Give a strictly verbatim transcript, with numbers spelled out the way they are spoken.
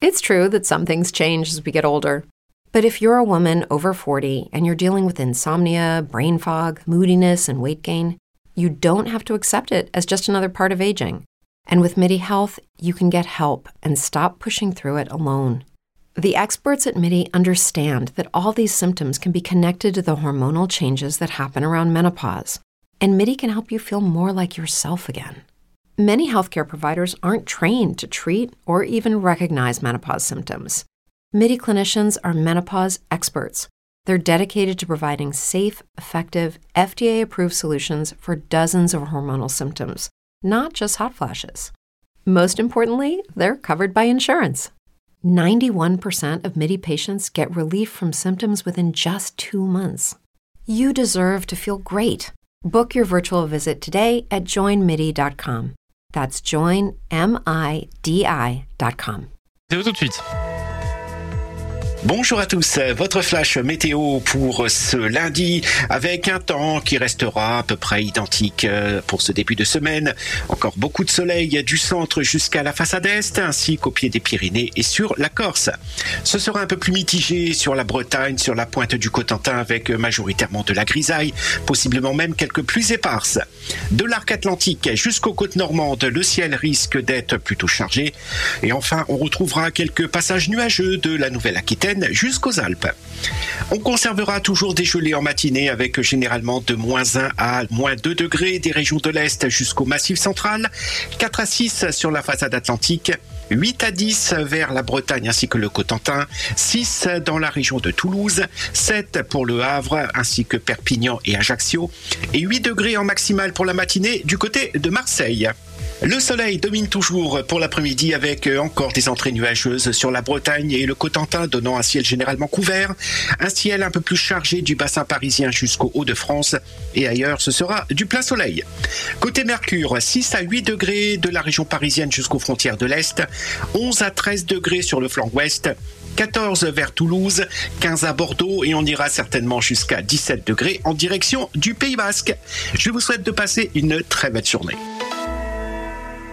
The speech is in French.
It's true that some things change as we get older. But if you're a woman over forty and you're dealing with insomnia, brain fog, moodiness, and weight gain, you don't have to accept it as just another part of aging. And with MIDI Health, you can get help and stop pushing through it alone. The experts at MIDI understand that all these symptoms can be connected to the hormonal changes that happen around menopause, and MIDI can help you feel more like yourself again. Many healthcare providers aren't trained to treat or even recognize menopause symptoms. MIDI clinicians are menopause experts. They're dedicated to providing safe, effective, F D A-approved solutions for dozens of hormonal symptoms, not just hot flashes. Most importantly, they're covered by insurance. ninety-one percent of MIDI patients get relief from symptoms within just two months. You deserve to feel great. Book your virtual visit today at join midi dot com. That's join midi dot com. C'est tout de suite. Bonjour à tous, votre flash météo pour ce lundi avec un temps qui restera à peu près identique pour ce début de semaine. Encore beaucoup de soleil du centre jusqu'à la façade est ainsi qu'au pied des Pyrénées et sur la Corse. Ce sera un peu plus mitigé sur la Bretagne, sur la pointe du Cotentin avec majoritairement de la grisaille, possiblement même quelques pluies éparses. De l'arc atlantique jusqu'aux côtes normandes, le ciel risque d'être plutôt chargé. Et enfin, on retrouvera quelques passages nuageux de la Nouvelle-Aquitaine jusqu'aux Alpes. On conservera toujours des gelées en matinée avec généralement de moins un à moins deux degrés des régions de l'Est jusqu'au Massif central, quatre à six sur la façade atlantique, huit à dix vers la Bretagne ainsi que le Cotentin, six dans la région de Toulouse, sept pour le Havre ainsi que Perpignan et Ajaccio et huit degrés en maximal pour la matinée du côté de Marseille. Le soleil domine toujours pour l'après-midi avec encore des entrées nuageuses sur la Bretagne et le Cotentin donnant un ciel généralement couvert, un ciel un peu plus chargé du bassin parisien jusqu'au Hauts-de-France et ailleurs ce sera du plein soleil. Côté Mercure, six à huit degrés de la région parisienne jusqu'aux frontières de l'Est, onze à treize degrés sur le flanc ouest, quatorze vers Toulouse, quinze à Bordeaux et on ira certainement jusqu'à dix-sept degrés en direction du Pays Basque. Je vous souhaite de passer une très belle journée.